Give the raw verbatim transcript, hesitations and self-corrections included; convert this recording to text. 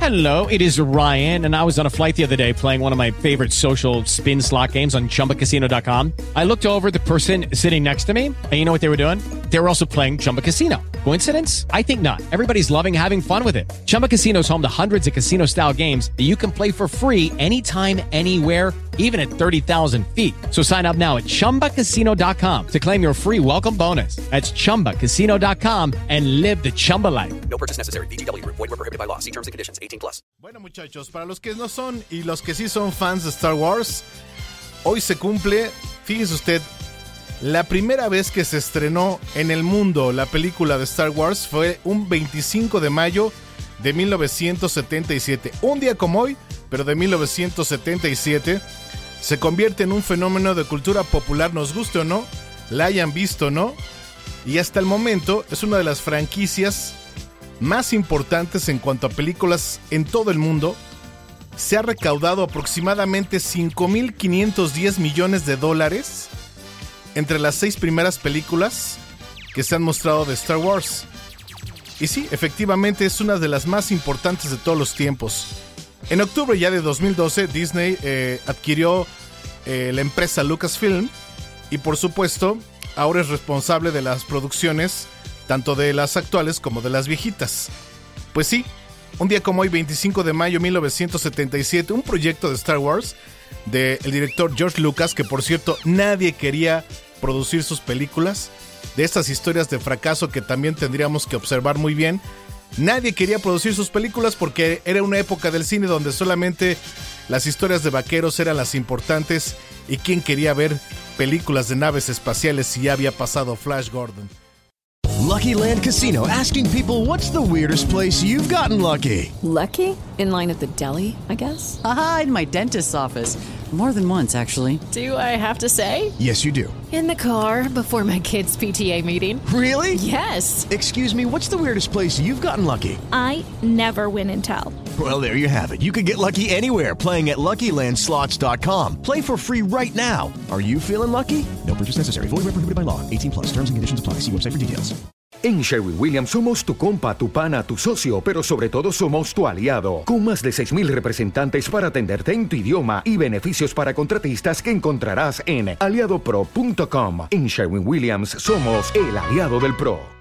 Hello, it is Ryan, and I was on a flight the other day playing one of my favorite social spin slot games on Chumba Casino dot com. I looked over at the person sitting next to me, and you know what they were doing? They were also playing Chumba Casino. Coincidence? I think not. Everybody's loving having fun with it. Chumba Casino is home to hundreds of casino-style games that you can play for free anytime, anywhere, even at thirty thousand feet. So sign up now at Chumba Casino dot com to claim your free welcome bonus. That's Chumba Casino dot com and live the Chumba life. No purchase necessary. V G W. Void where prohibited by law. See terms and conditions. eighteen plus. Bueno, muchachos, para los que no son y los que sí son fans de Star Wars, hoy se cumple, fíjese usted, la primera vez que se estrenó en el mundo la película de Star Wars fue un veinticinco de mayo de mil novecientos setenta y siete. Un día como hoy, pero de mil novecientos setenta y siete, se convierte en un fenómeno de cultura popular, nos guste o no, la hayan visto o no, y hasta el momento es una de las franquicias más importantes en cuanto a películas en todo el mundo. Se ha recaudado aproximadamente cinco mil quinientos diez millones de dólares entre las seis primeras películas que se han mostrado de Star Wars. Y sí, efectivamente es una de las más importantes de todos los tiempos. En octubre ya de dos mil doce, Disney eh, adquirió eh, la empresa Lucasfilm y por supuesto ahora es responsable de las producciones tanto de las actuales como de las viejitas. Pues sí, un día como hoy, veinticinco de mayo de mil novecientos setenta y siete, un proyecto de Star Wars del director George Lucas, que por cierto nadie quería producir sus películas, de estas historias de fracaso que también tendríamos que observar muy bien. Nadie quería producir sus películas porque era una época del cine donde solamente las historias de vaqueros eran las importantes y quién quería ver películas de naves espaciales si ya había pasado Flash Gordon. Lucky Land Casino, asking people, what's the weirdest place you've gotten lucky? Lucky? In line at the deli, I guess? Aha, in my dentist's office. More than once, actually. Do I have to say? Yes, you do. In the car before my kids' P T A meeting. Really? Yes. Excuse me, what's the weirdest place you've gotten lucky? I never win and tell. Well, there you have it. You can get lucky anywhere, playing at Lucky Land Slots dot com. Play for free right now. Are you feeling lucky? No purchase necessary. Void where prohibited by law. eighteen plus. Terms and conditions apply. See website for details. En Sherwin-Williams somos tu compa, tu pana, tu socio, pero sobre todo somos tu aliado. Con más de seis mil representantes para atenderte en tu idioma y beneficios para contratistas que encontrarás en aliado pro punto com. En Sherwin-Williams somos el aliado del pro.